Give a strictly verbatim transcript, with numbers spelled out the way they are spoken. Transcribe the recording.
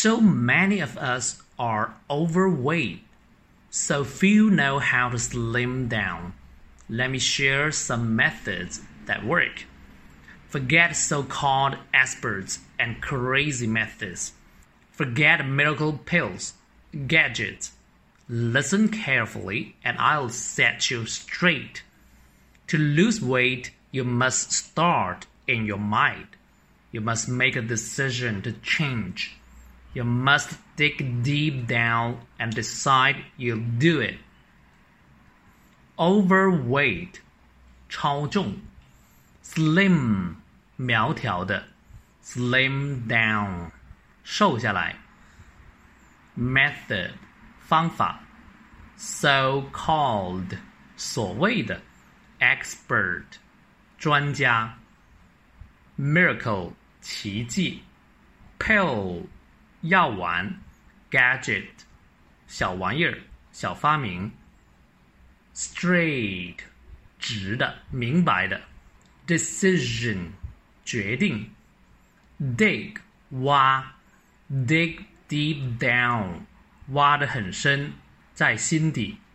So many of us are overweight, so few know how to slim down. Let me share some methods that work. Forget so-called experts and crazy methods. Forget miracle pills, gadgets. Listen carefully and I'll set you straight. To lose weight, you must start in your mind. You must make a decision to change. You must dig deep down and decide you'll do it. Overweight, 超重 Slim, 苗条的 Slim down, 瘦下来 Method, 方法 So-called, 所谓的 Expert, 专家 Miracle, 奇迹 Pill, 药丸 Gadget, 小玩意儿小发明 Straight, 直的明白的 Decision, 决定 Dig, 挖 Dig deep down, 挖得很深在心底